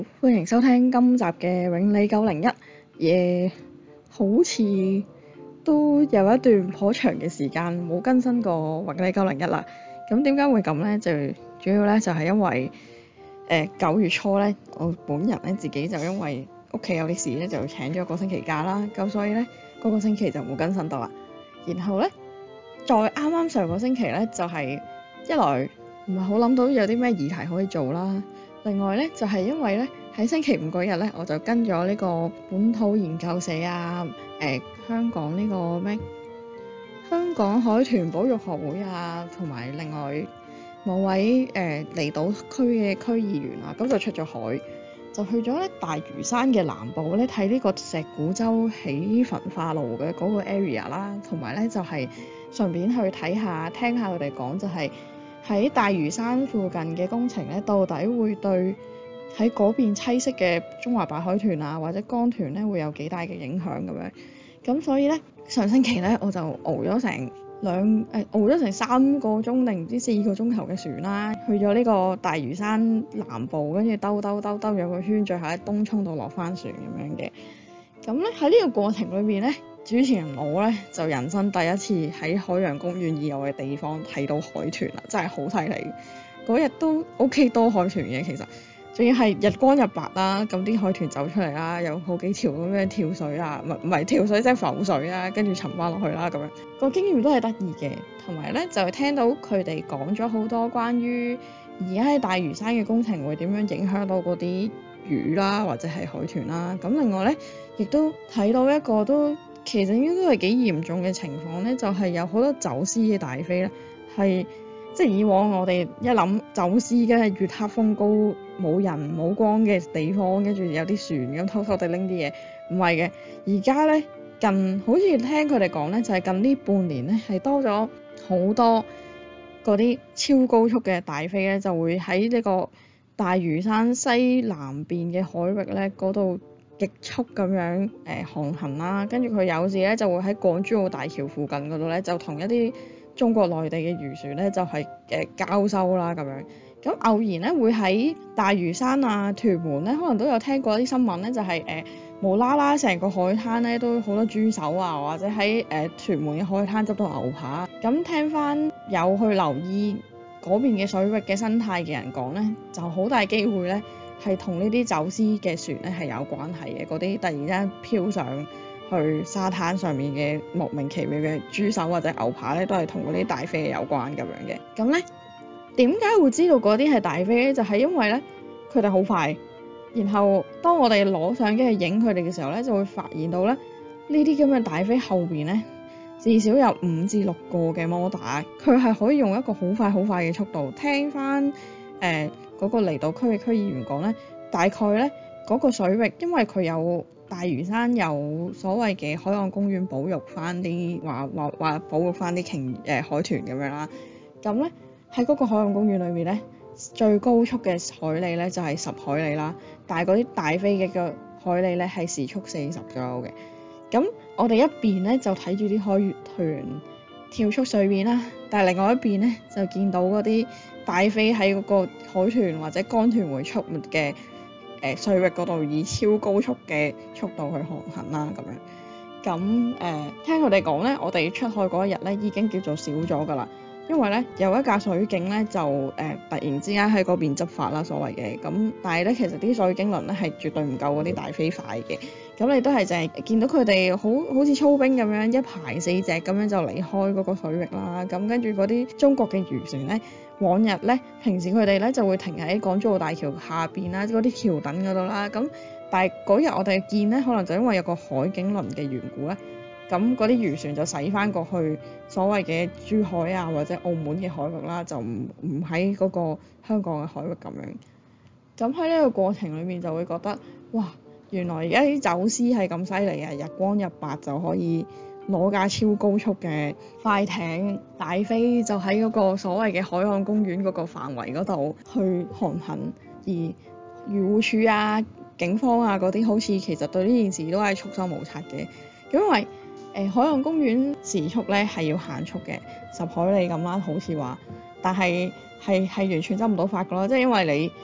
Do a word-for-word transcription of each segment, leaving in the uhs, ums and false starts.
歡迎收聽今集嘅永利九零一，嘢好似都有一段頗長嘅時間冇更新過永利九零一啦。咁點解會咁呢？就主要咧就係因為誒九月初咧，我本人咧自己就因為屋企有啲事咧，就請咗個星期假啦。咁所以咧嗰個星期就冇更新到啦。然後咧再啱啱上個星期咧，就係一來唔係好諗到有啲咩議題可以做啦。另外咧就係因為咧喺星期五嗰日咧，我就跟咗呢個本土研究社啊，誒香港呢個咩香港海豚保育學會啊，同埋另外某位誒離島區嘅區議員啊，咁就出咗海，就去咗咧大嶼山嘅南部咧睇呢個石鼓洲起焚化爐嘅嗰個 area 啦，同埋咧就係順便去睇下聽下佢哋講，就係喺大嶼山附近嘅工程咧，到底會對喺嗰邊棲息嘅中華白海豚啊或者江豚咧會有幾大嘅影響咁樣。咁所以咧上星期咧我就熬咗成兩誒、呃、熬咗成三個鐘定唔知四個鐘頭嘅船啦，去咗呢個大嶼山南部，跟住兜兜兜兜咗個圈，最後喺東涌度落翻船咁樣嘅。咁咧喺呢個過程裏面咧，主持人我咧就人生第一次喺海洋公園以外嘅地方睇到海豚啦，真係好犀利！嗰日都 OK 多海豚嘅其實。仲要係日光日白啦，咁啲海豚走出嚟啦，有好幾條咁樣跳水啊，唔唔係跳水即係浮水啦，跟住沉翻落去啦咁樣，個經驗都係得意嘅。同埋咧就係聽到佢哋講咗好多關於而家喺大嶼山嘅工程會點樣影響到嗰啲魚啦，或者係海豚啦。咁另外咧亦都睇到一個都其實應該都係幾嚴重嘅情況咧，就係有好多走私嘅大飛咧係。即係以往我哋一諗走私嘅係月黑風高冇人冇光嘅地方，跟住有啲船咁偷偷地拎啲嘢，唔係嘅。而家咧近好似聽佢哋講咧，就係近呢半年咧係多咗好多嗰啲超高速嘅大飛咧，就會喺呢個大嶼山西南邊嘅海域咧嗰度極速咁樣誒航行啦，跟住佢有時咧就會喺港珠澳大橋附近嗰度咧就同一啲中國內地嘅漁船咧就係、是、誒交收啦咁樣，咁偶然咧會喺大嶼山啊、屯門咧，可能都有聽過啲新聞咧，就係、是、誒、呃、無啦啦成個海灘咧都好多豬手啊，或者喺誒、呃、屯門嘅海灘執到牛扒。咁聽翻有去留意嗰邊嘅水域嘅生態嘅人講咧，就好大機會咧係同呢啲走私嘅船咧係有關係嘅，嗰啲突然之間飄上去沙灘上面嘅莫名其妙嘅豬手或者牛扒咧，都係同嗰啲大飛有關咁樣嘅。咁咧點解會知道嗰啲係大飛咧？就係、是、因為咧佢哋好快，然後當我哋攞相機去影佢哋嘅時候咧，就會發現到咧呢啲咁嘅大飛後邊咧至少有五至六個嘅摩打，佢係可以用一個好快好快嘅速度。聽翻誒嗰個離島區嘅區議員講咧，大概咧嗰、那個水域，因為佢有。大嶼山有所謂嘅海岸公園保育翻啲話話話保育翻啲鯨誒海豚咁樣啦，咁咧喺嗰個海岸公園裏面咧，最高速嘅海里咧就係、是、十海里啦，但係嗰啲大飛嘅個海里咧係時速四十左右嘅。咁我哋一邊咧就睇住啲海豚跳出水面啦，但係另外一邊咧就見到嗰啲大飛喺嗰個海豚或者江豚會出沒嘅。誒、呃、水域嗰度以超高速嘅速度去航行啦，咁樣咁誒、呃、聽佢哋講咧，我哋出海嗰一日咧已經叫做少咗㗎啦，因為咧有一架水警咧就誒、呃、突然之間喺嗰邊執法啦，所謂嘅咁，但係咧其實啲水警輪咧係絕對唔夠嗰啲大飛快嘅，咁你都係淨係見到佢哋好好似操兵咁樣一排四隻咁樣就離開嗰個水域啦，咁跟住嗰啲中國嘅漁船咧。往日咧，平時佢哋咧就會停喺港珠澳大橋下邊啦，嗰啲橋墩嗰度啦。咁但係嗰日我哋見咧，可能就因為有個海警輪嘅緣故咧，咁嗰啲漁船就駛翻過去所謂嘅珠海啊或者澳門嘅海域啦，就唔唔喺嗰個香港嘅海域咁樣。咁喺呢個過程裏面就會覺得，哇！原來而家啲走私係咁犀利啊！日光日白就可以攞架超高速嘅快艇大飛，就喺嗰個所謂嘅海岸公園嗰個範圍嗰度去航行，而漁護署啊、警方啊嗰啲好似其實對呢件事都係束手無策嘅，因為誒、呃、海岸公園時速咧係要限速嘅，十海里咁啦，好似話，但係係係完全執唔到法㗎咯，即係因為你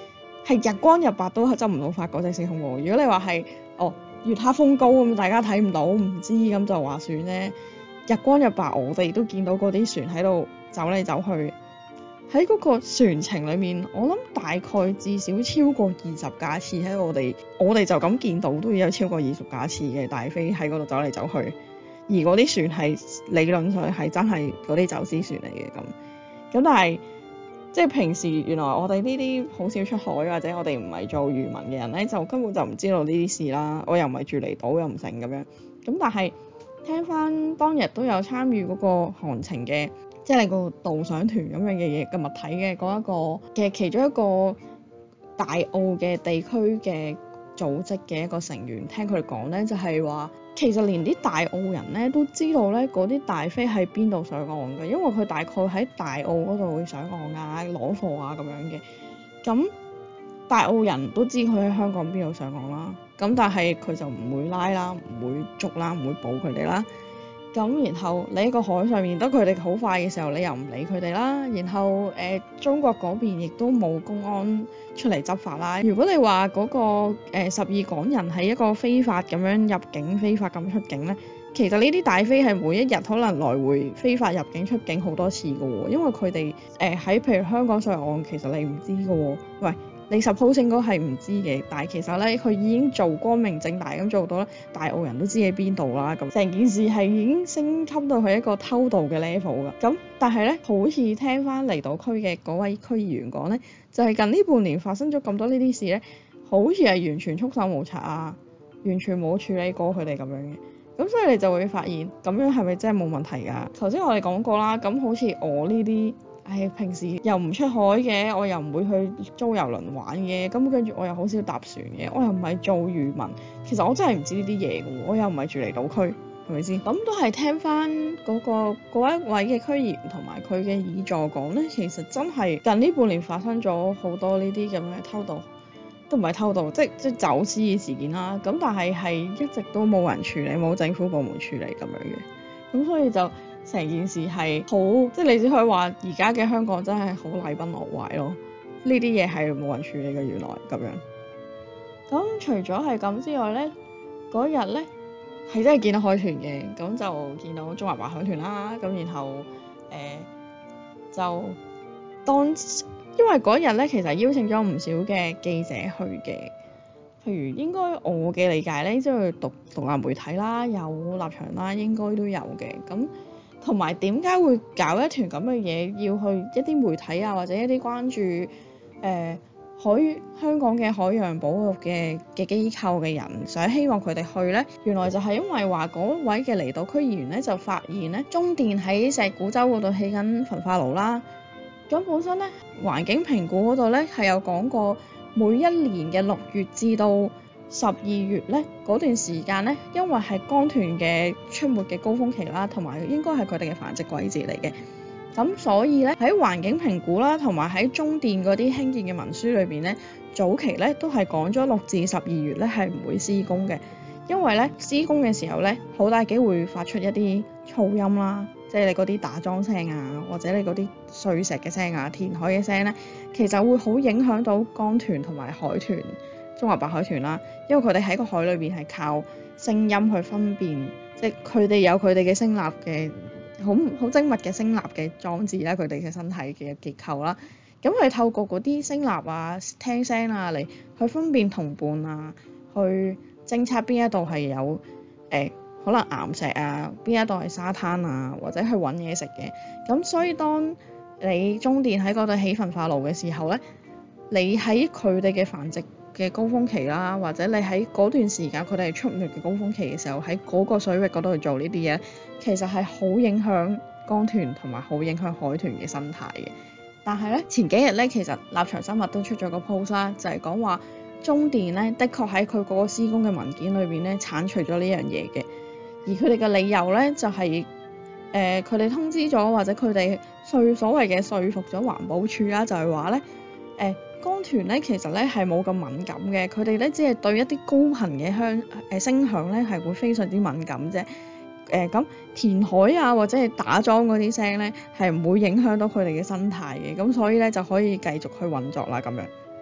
係日光日白都執唔到法國際時空喎。如果你話係哦月黑風高咁，大家睇唔到唔知咁就話算咧。日光日白我哋都見到嗰啲船喺度走嚟走去，喺嗰個船程裡面，我諗大概至少超過二十架次喺我哋，我哋就咁見到都有超過二十架次嘅大飛喺嗰度走嚟走去，而嗰啲船係理論上係真係嗰啲走私船嚟嘅咁。咁但係即係平時原來我哋呢啲好少出海或者我哋唔係做漁民嘅人咧，就根本就唔知道呢啲事啦。我又唔係住離島又唔成咁樣。咁但係聽翻當日都有參與嗰個航程嘅，即係你個導賞團咁樣嘅嘢嘅物體嘅嗰一個嘅其中一個大澳嘅地區嘅組織嘅一個成員，聽佢哋講咧就係話，其實連啲大澳人咧都知道咧嗰啲大飛喺邊度上岸嘅，因為佢大概喺大澳嗰度會上岸啊、攞貨啊咁樣嘅。咁大澳人都知佢喺香港邊度上岸啦，咁但係佢就唔會拉啦，唔會捉啦，唔會捕佢哋啦。咁然後你喺個海上面，得佢哋好快嘅時候，你又唔理佢哋啦。然後誒、呃、中國嗰邊亦都冇公安出嚟執法啦。如果你話嗰、那個誒十二港人係一個非法咁樣入境、非法咁出境咧，其實呢啲大飛係每一日可能來回非法入境出境好多次㗎喎，因為佢哋誒喺譬如香港上岸，其實你唔知㗎喎，喂。你 suppose 應該係唔知嘅，但係其實咧佢已經做光明正大咁做到咧，大澳人都知喺邊度啦。咁成件事係已經升級到去一個偷渡嘅 level 㗎。咁但係咧，好似聽翻離島區嘅嗰位區議員講咧，就係、是、近呢半年發生咗咁多呢啲事咧，好似係完全束手無策啊，完全冇處理過佢哋咁樣嘅。咁所以你就會發現，咁樣係咪真係冇問題㗎？頭先我哋講過啦，咁好似我呢啲。唉，平時又唔出海嘅，我又唔會去租遊輪玩嘅，咁跟住我又好少搭船嘅，我又唔係做漁民，其實我真係唔知呢啲嘢嘅喎，我又唔係住離島區，係咪先？咁都係聽翻嗰個嗰一位嘅區議員同埋佢嘅議助講咧，其實真係近呢半年發生咗好多呢啲咁嘅偷渡，都唔係偷渡，即即走私嘅事件啦。咁但係係一直都冇人處理，冇政府部門處理咁樣嘅，咁所以就。成件事係好，即係你只可以話而家嘅香港真係好禮崩樂壞咯。呢啲嘢係冇人處理嘅，原來咁樣。咁除咗係咁之外咧，嗰日咧係真係見到海豚嘅，咁就見到中華白海豚啦。咁然後誒、呃、就當因為嗰日咧其實邀請咗唔少嘅記者去嘅，譬如應該我嘅理解咧，即係獨獨立媒體啦，有立場啦，應該都有嘅咁。同埋點解會搞一團咁嘅嘢，要去一啲媒體啊，或者一啲關注誒、呃、海香港嘅海洋保育嘅嘅機構嘅人，想希望佢哋去呢？原來就係因為話嗰位嘅離島區議員咧，就發現咧中電喺石鼓洲嗰度起緊焚化爐啦。咁本身咧環境評估嗰度咧係有講過，每一年嘅六月至到十二月咧嗰段時間咧，因為係江豚嘅出沒嘅高峰期啦，同埋應該係佢哋嘅繁殖季節嚟嘅。咁所以咧喺環境評估啦，同埋喺中電嗰啲興建嘅文書裏邊咧，早期咧都係講咗六至十二月咧係唔會施工嘅，因為咧施工嘅時候咧好大機會發出一啲噪音啦，即係你嗰啲打樁聲啊，或者你嗰啲碎石嘅聲啊、填海嘅聲咧，其實會好影響到江豚同埋海豚。中華白海豚啦，因為佢哋喺個海裏邊係靠聲音去分辨，即係佢哋有佢哋嘅聲納嘅好好精密嘅聲納嘅裝置啦，佢哋嘅身體嘅結構啦，咁佢透過嗰啲聲納啊、聽聲啊嚟去分辨同伴啊，去偵測邊一度係有誒、呃、可能岩石啊，邊一度係沙灘啊，或者去揾嘢食嘅。咁所以當你中電喺嗰度起焚化爐嘅時候咧，你喺佢哋嘅繁殖嘅高峰期啦，或者你喺嗰段時間佢哋係出沒嘅高峰期嘅時候，喺嗰個水域嗰度去做呢啲嘢，其實係好影響江豚同埋好影響海豚嘅生態嘅。但係咧前幾日咧，其實立場生物都出咗個 post 啦，就係講話中電咧的確喺佢嗰個施工嘅文件裏邊咧剷除咗呢樣嘢嘅，而佢哋嘅理由咧就係誒佢哋通知咗或者佢哋說所謂嘅說服咗環保署啦，就係話咧誒。呃江豚咧其實咧係冇咁敏感嘅，佢哋咧只係對一啲高頻嘅響誒聲響咧係會非常之敏感啫。誒、呃、咁填海啊或者係打樁嗰啲聲咧係唔會影響到佢哋嘅生態嘅，咁所以咧就可以繼續去運作啦咁樣。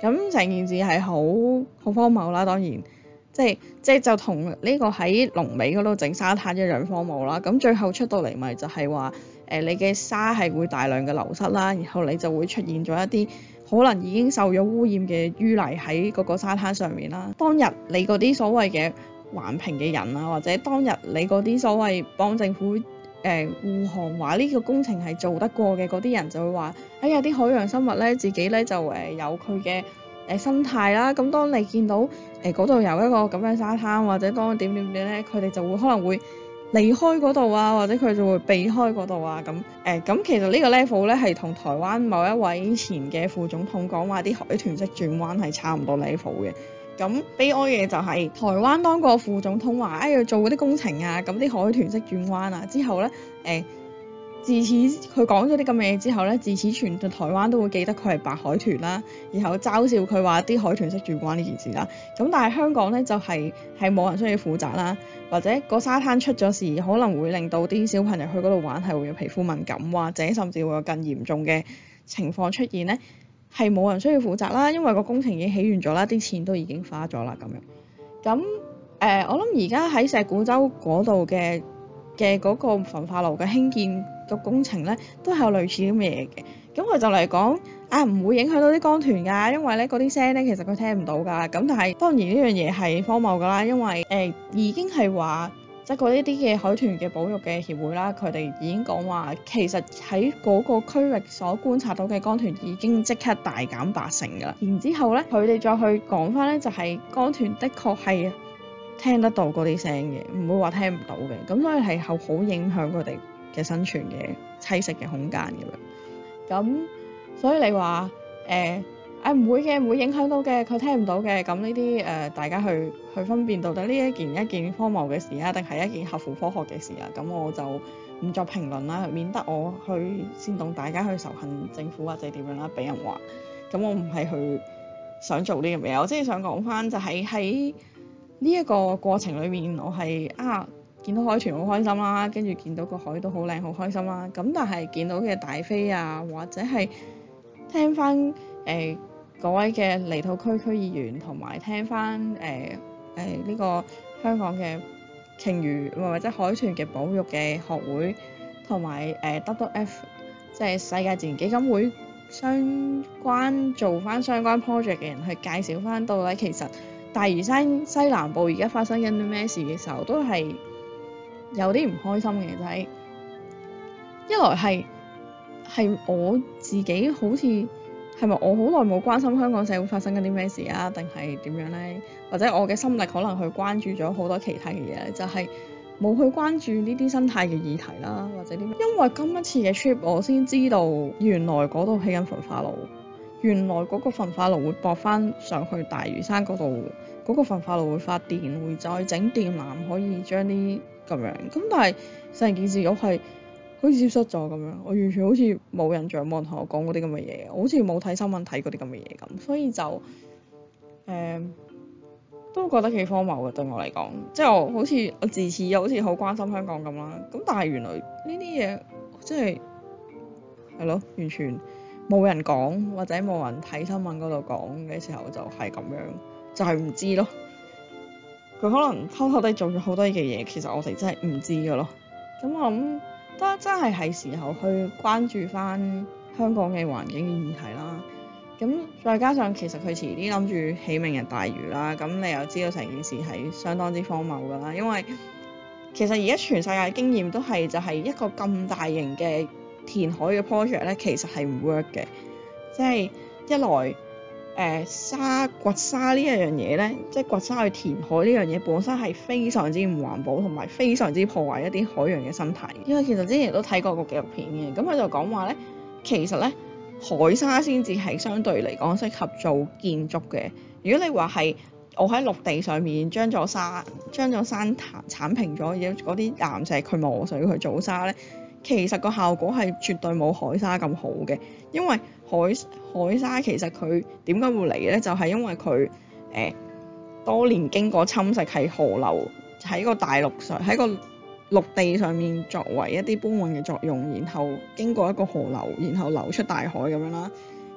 咁成件事係好好荒謬啦，當然即係即係就同呢個喺龍尾嗰度整沙灘一樣荒謬啦。咁最後出到嚟咪就係話誒你嘅沙係會大量嘅流失啦，然後你就會出現咗一啲可能已經受咗污染嘅淤泥喺嗰個沙灘上面啦。當日你嗰啲所謂嘅環評嘅人啊，或者當日你嗰啲所謂幫政府誒護航話呢個工程係做得過嘅嗰啲人就會話：哎呀，啲海洋生物咧自己咧就誒、呃、有佢嘅誒生態啦。咁當你見到誒嗰度有一個咁嘅沙灘，或者當點點點咧，佢哋就會可能會離開嗰度啊，或者佢就會避開嗰度啊。咁誒咁其實呢個 level 咧係同台灣某一位前嘅副總統講話啲海豚式轉彎係差唔多 level 嘅。咁悲哀嘅就係台灣當個副總統話哎要做嗰啲工程啊，咁啲海豚式轉彎啊之後咧誒、呃、自此佢講咗啲咁嘅嘢之後咧，自此全台灣都會記得佢係白海豚啦，然後嘲笑佢話啲海豚式轉彎呢件事啦。咁但係香港咧就係係冇人需要負責啦，或者個沙灘出咗事可能會令到啲小朋友去嗰度玩係會有皮膚敏感，或者甚至會有更嚴重嘅情況出現咧。係冇人需要負責啦，因為個工程已經起完咗啦，啲錢都已經花咗啦咁樣。咁誒、呃，我諗而家喺石鼓洲嗰度嘅嘅嗰個焚化爐嘅興建個工程咧，都係有類似咁嘅嘢嘅。咁佢就嚟講啊，唔會影響到啲江豚㗎，因為咧嗰啲聲咧其實佢聽唔到㗎。咁但係當然呢樣嘢係荒謬㗎啦，因為誒、呃、已經係話。即係嗰啲啲嘅海豚嘅保育嘅協會啦，佢哋已經講話，其實喺嗰個區域所觀察到嘅江豚已經即刻大減八成㗎啦。然之後咧，佢哋再去講翻咧，就係江豚的確係聽得到嗰啲聲嘅，唔會話聽唔到嘅。咁所以係好好影響佢哋嘅生存嘅棲息嘅空間咁樣。咁所以你話誒誒唔會嘅，唔會影響到嘅，佢聽唔到嘅。咁呢啲誒大家去去分辨到底呢一件一件荒謬嘅事啊，定係一件合乎科學嘅事啊？咁我就唔作評論啦，免得我去煽動大家去仇恨政府或者點樣啦，俾人話。咁我唔係去想做呢樣嘢，我即係想講翻就係喺呢一個過程裏面，我係啊見到海豚好開心啦，跟住見到個海都好靚好開心啦。咁但係見到嘅大飛啊，或者係聽翻誒。呃嗰位嘅離島區區議員同埋聽翻誒誒呢個香港嘅鯨魚或者海豚嘅保育嘅學會同埋誒 W W F 即係世界自然基金會相關做翻相關 project 嘅人去介紹翻到底其實大嶼山西南部而家發生緊啲咩事嘅時候，都係有啲唔開心嘅，就係一來係係我自己好似。係咪我好耐冇關心香港社會發生緊啲咩事啊？定係點樣呢？或者我嘅心力可能去關注咗好多其他嘅嘢，就係、是、冇去關注呢啲生態嘅議題啦，或者啲咩？因為今一次嘅 trip 我先知道原來嗰度起緊焚化爐，原來嗰個焚化爐會駁翻上去大嶼山嗰度，嗰、那個焚化爐會發電，會再整電纜可以將啲咁樣。咁但係成件事我係好似消失咗咁樣，我完全好似冇印象，冇人同我講嗰啲咁嘅嘢，我好似冇睇新聞睇嗰啲咁嘅嘢咁，所以就誒、呃、都覺得幾荒謬嘅對我嚟講，即係我好似我自恃又好似好關心香港咁啦，咁但係原來呢啲嘢即係係咯，完全冇人講或者冇人睇新聞嗰度講嘅時候就係咁樣，就係、是、唔知咯。佢可能偷偷地做咗好多嘅嘢，其實我哋真係唔知㗎咯。咁我諗。都真係係時候去關注翻香港嘅環境嘅議題啦。咁再加上其實佢遲啲諗住起明日大嶼啦，咁你又知道成件事係相當之荒謬㗎啦。因為其實而家全世界經驗都係就係一個咁大型嘅填海嘅 project 咧，其實係唔 work 嘅。即係一來。誒、呃、沙掘沙呢一樣嘢咧，即係掘沙去填海呢樣嘢本身係非常之唔環保，同埋非常之破壞一啲海洋嘅生態。因為其實之前都睇過個紀錄片嘅，咁佢就講話咧，其實咧海沙先至係相對嚟講適合做建築嘅。如果你話係我喺陸地上面將咗沙將咗山剷平咗，有嗰啲岩石去磨水去做沙咧，其實個效果係絕對冇海沙咁好嘅，因為海海沙其實佢點解會嚟咧？就係、是、因為佢誒、呃、多年經過侵蝕，係河流喺個大陸上喺個陸地上面作為一啲搬運嘅作用，然後經過一個河流，然後流出大海咁樣啦。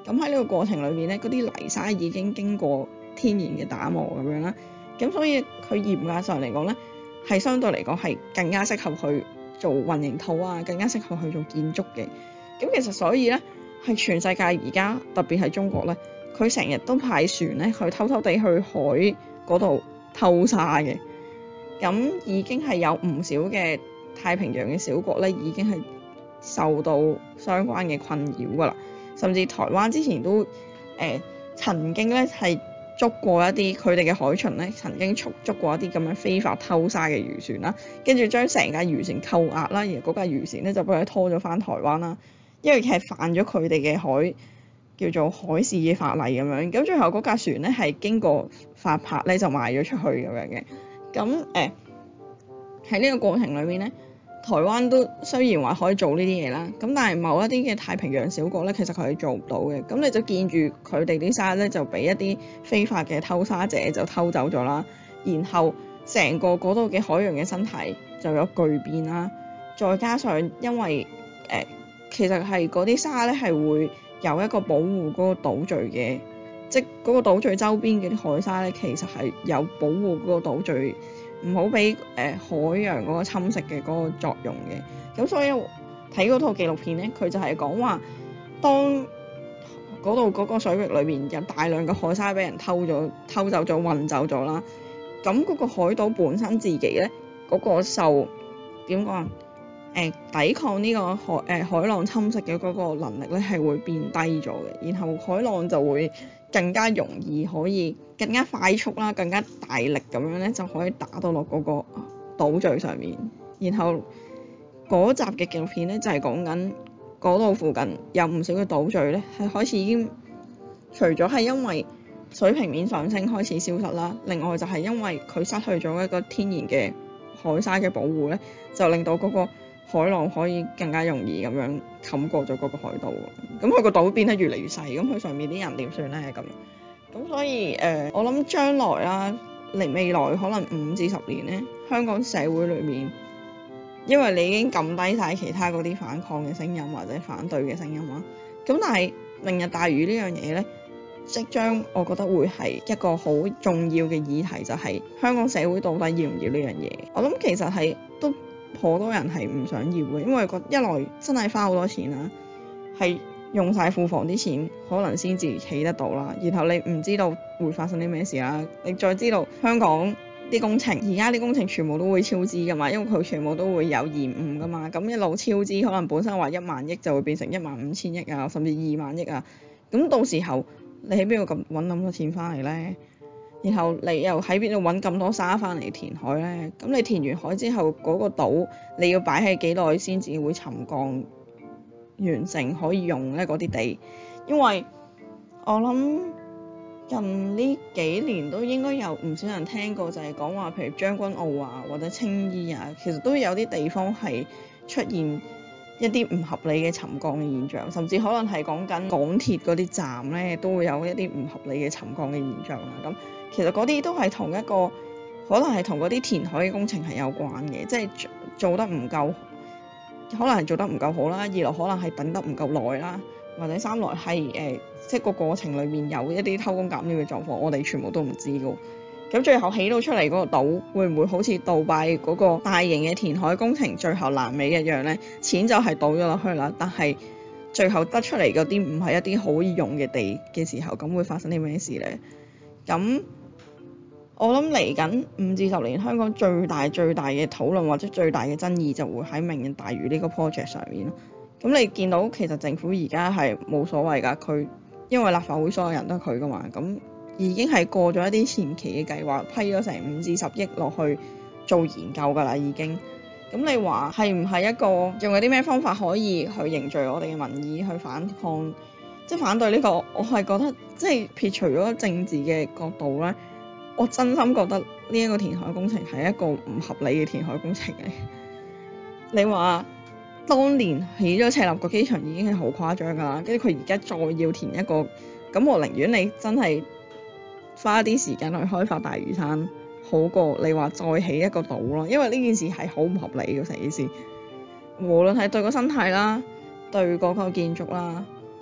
咁喺呢個過程裏面咧，嗰啲泥沙已經經過天然嘅打磨咁樣啦，咁所以佢嚴格上嚟講咧，係相對嚟講係更加適合去做混凝土啊，更加適合去做建築嘅。咁其實所以咧，係全世界而家特別係中國咧，佢成日都派船咧去偷偷地去海嗰度偷沙嘅。咁已經係有唔少嘅太平洋嘅小國咧，已經係受到相關嘅困擾㗎啦。甚至台灣之前都誒、呃、曾經咧係捉過一啲佢哋嘅海巡咧，曾經捉捉過一啲咁樣非法偷沙嘅漁船啦，跟住將成架漁船扣押啦，而嗰架漁船咧就俾佢拖咗返台灣啦，因為係犯咗佢哋嘅海叫做海事嘅法例咁樣。咁最後嗰架船咧係經過發牌咧就賣咗出去咁樣嘅。咁誒喺呢個過程裏面咧，台灣都雖然話可以做呢啲嘢啦，咁但係某一啲嘅太平洋小國咧，其實佢係做唔到嘅。咁你就見住佢哋啲沙咧就俾一啲非法嘅偷沙者就偷走咗啦，然後成個嗰度嘅海洋嘅生態就有巨變啦。再加上因為誒、呃、其實係嗰啲沙咧係會有一個保護嗰個島嶼嘅，即係嗰個島嶼周邊嘅啲海沙咧，其實係有保護嗰個島嶼唔好俾誒海洋嗰個侵蝕嘅嗰個作用嘅。咁所以睇嗰套紀錄片咧，佢就係講話，當嗰度嗰個水域裏面有大量嘅海沙俾人偷咗、偷走咗、運走咗啦，咁嗰個海島本身自己咧嗰、嗰個受點講啊？誒抵抗呢個海誒、呃、海浪侵蝕嘅嗰個能力咧係會變低咗嘅，然後海浪就會更加容易可以更加快速啦、更加大力咁樣咧就可以打到落嗰個島嶼上面。然後嗰集嘅紀錄片咧就係講緊嗰度附近有唔少嘅島嶼咧係開始已經除咗係因為水平面上升開始消失啦，另外就係因為佢失去咗一個天然嘅海沙嘅保護咧，就令到嗰個海浪可以更加容易咁樣冚過咗嗰個海島，咁佢個島變得越嚟越細，咁佢上面啲人點算咧咁？咁所以誒、呃，我諗將來啦，嚟未來可能五至十年咧，香港社會裏面，因為你已經撳低晒其他嗰啲反抗嘅聲音或者反對嘅聲音啦，咁但係明日大嶼呢樣嘢咧，即將我覺得會係一個好重要嘅議題，就係、是、香港社會到底要唔要呢樣嘢？我諗其實係都好多人係唔想要嘅，因為個一來真係花好多錢啦，係用晒庫房啲錢可能先至起得到啦，然後你唔知道會發生啲咩事啦，你再知道香港啲工程而家啲工程全部都會超支㗎嘛，因為佢全部都會有延誤㗎嘛，咁一路超支可能本身話一萬億就會變成一萬五千億啊，甚至二萬億啊，咁到時候你喺邊度咁揾咁多錢翻嚟咧？然後你又喺邊度揾咁多沙翻嚟填海咧？咁你填完海之後嗰、那個島你要擺喺幾耐先至會沉降完成可以用咧嗰啲地？因為我諗近呢幾年都應該有唔少人聽過，就係講話譬如將軍澳啊或者青衣啊，其實都有啲地方係出現一啲唔合理嘅沉降嘅現象，甚至可能係講緊港鐵嗰啲站咧都會有一啲唔合理嘅沉降嘅現象啦。咁其實嗰啲都係同一個，可能係同嗰啲填海嘅工程係有關嘅，即係做得唔夠，可能係做得唔夠好啦，二來可能係等得唔夠耐啦，或者三來係誒、呃、即係個過程裡面有一啲偷工減料嘅狀況，我哋全部都唔知㗎。咁最後起到出嚟嗰個島會唔會好似杜拜嗰個大型嘅填海工程最後爛尾一樣呢？錢就係倒咗落去啦，但係最後得出嚟嗰啲唔係一啲好易用嘅地嘅時候，咁會發生啲咩事呢？咁我諗嚟緊五至十年，香港最大最大嘅討論或者最大嘅爭議就會喺明日大嶼呢個 project 上面咯。咁你見到其實政府而家係冇所謂㗎，佢因為立法會所有人都係佢㗎嘛，咁已經係過咗一啲前期嘅計劃，批咗成五至十億落去做研究㗎啦已經。咁你話係唔係一個用有啲咩方法可以去凝聚我哋嘅民意去反抗，即係反對呢個？我係覺得即係撇除咗政治嘅角度咧，我真心覺得呢一個填海工程係一個唔合理嘅填海工程嚟。你話當年起咗赤鱲角機場已經係好誇張㗎啦，跟住佢而家再要填一個，咁我寧願你真係花啲時間去開發大嶼山，好過你話再起一個島咯，因為呢件事係好唔合理嘅成件事，無論係對個生態啦，對嗰個建築啦，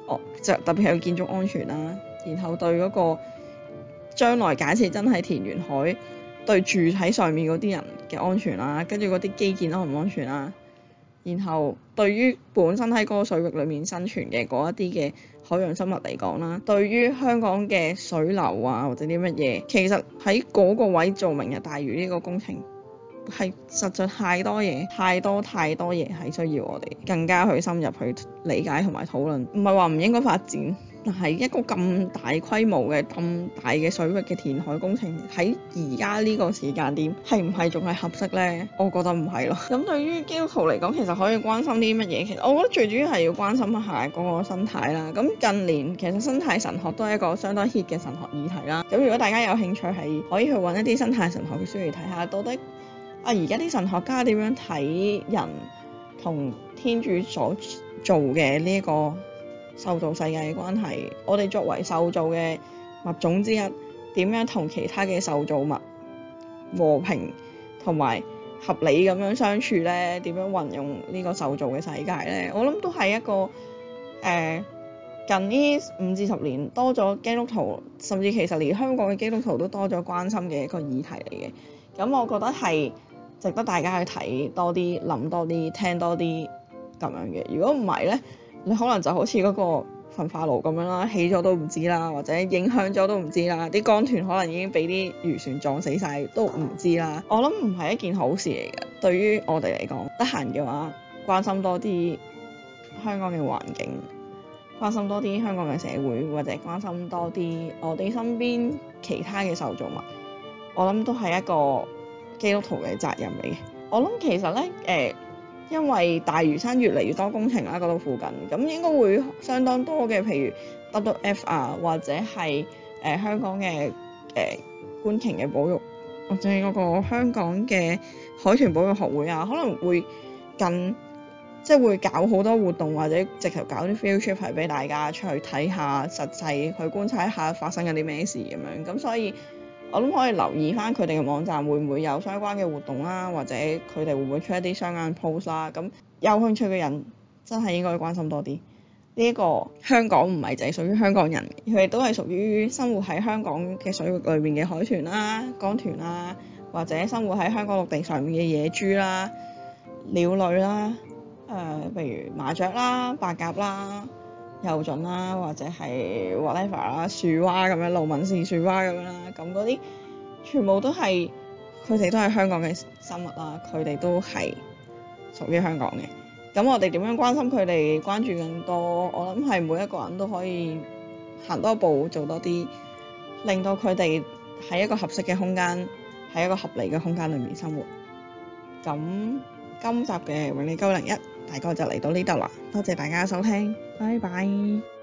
哦，就特別係建築安全啦，然後對嗰個將來假設真係填完海，對住喺上面嗰啲人嘅安全啦，跟住嗰啲基建安唔安全啦，然後對於本身喺嗰個水域裡面生存嘅嗰一啲嘅海洋生物嚟講啦，對於香港嘅水流啊或者啲乜嘢，其實喺嗰個位做明日大嶼呢個工程係實在太多嘢，太多太多嘢係需要我哋更加去深入去理解同埋討論。唔係話唔應該發展，但係一個咁大規模嘅咁大嘅水域嘅填海工程喺而家呢個時間點係唔係仲係合適呢？我覺得唔係咯。咁對於基督徒嚟講，其實可以關心啲乜嘢？其實我覺得最主要係要關心一下嗰個生態啦。咁近年其實生態神學都係一個相當 hit 嘅神學議題啦。咁如果大家有興趣係可以去揾一啲生態神學嘅書嚟睇下，到底啊而家啲神學家點樣睇人同天主所做嘅呢一個受造世界嘅關係？我哋作為受造嘅物種之一，點樣同其他嘅受造物和平同埋合理咁樣相處呢？點樣運用呢個受造嘅世界呢？我諗都係一個誒、呃、近呢五至十年多咗基督徒，甚至其實連香港嘅基督徒都多咗關心嘅一個議題嚟嘅。咁我覺得係值得大家去睇多啲、諗多啲、聽多啲咁樣嘅。如果唔係呢，你可能就好似嗰個焚化爐咁樣啦，起咗都唔知啦，或者影響咗都唔知啦，啲江豚可能已經俾啲漁船撞死晒都唔知啦。我諗唔係一件好事嚟嘅，對於我哋嚟講，得閒嘅話關心多啲香港嘅環境，關心多啲香港嘅社會，或者關心多啲我哋身邊其他嘅受造物，我諗都係一個基督徒嘅責任嚟嘅。我諗其實呢，誒、呃，因為大嶼山越嚟越多工程啦，嗰度附近，咁應該會相當多嘅，譬如 W W F 啊，或者係誒、呃、香港嘅誒、呃、觀鯨嘅保育，或者嗰個香港嘅海豚保育學會啊，可能會近即係會搞好多活動，或者直頭搞啲 field trip 係俾大家出去睇下，實際去觀察一下發生緊啲咩事咁樣。咁所以我諗可以留意翻佢哋嘅網站會唔會有相關嘅活動啦，或者佢哋會唔會出一啲相關 post 啦。咁有興趣嘅人真係應該關心多啲。呢一個香港唔係淨係屬於香港人，佢哋都係屬於生活喺香港嘅水域裏面嘅海豚啦、江豚啦，或者生活喺香港陸地上面嘅野豬啦、鳥類啦。誒、呃，譬如麻雀啦、白鴿啦、幼隼啦，或者係 whatever 啦、樹蛙咁樣、盧文氏樹蛙咁樣啦，咁嗰啲全部都係佢哋都係香港嘅生物啦，佢哋都係屬於香港嘅。咁我哋點樣關心佢哋、關注更多？我諗係每一個人都可以行多步、做多啲，令到佢哋喺一個合適嘅空間，喺一個合理嘅空間裏面生活。咁今集嘅永利九零一大概就嚟到呢度啦，多謝大家收聽，拜拜。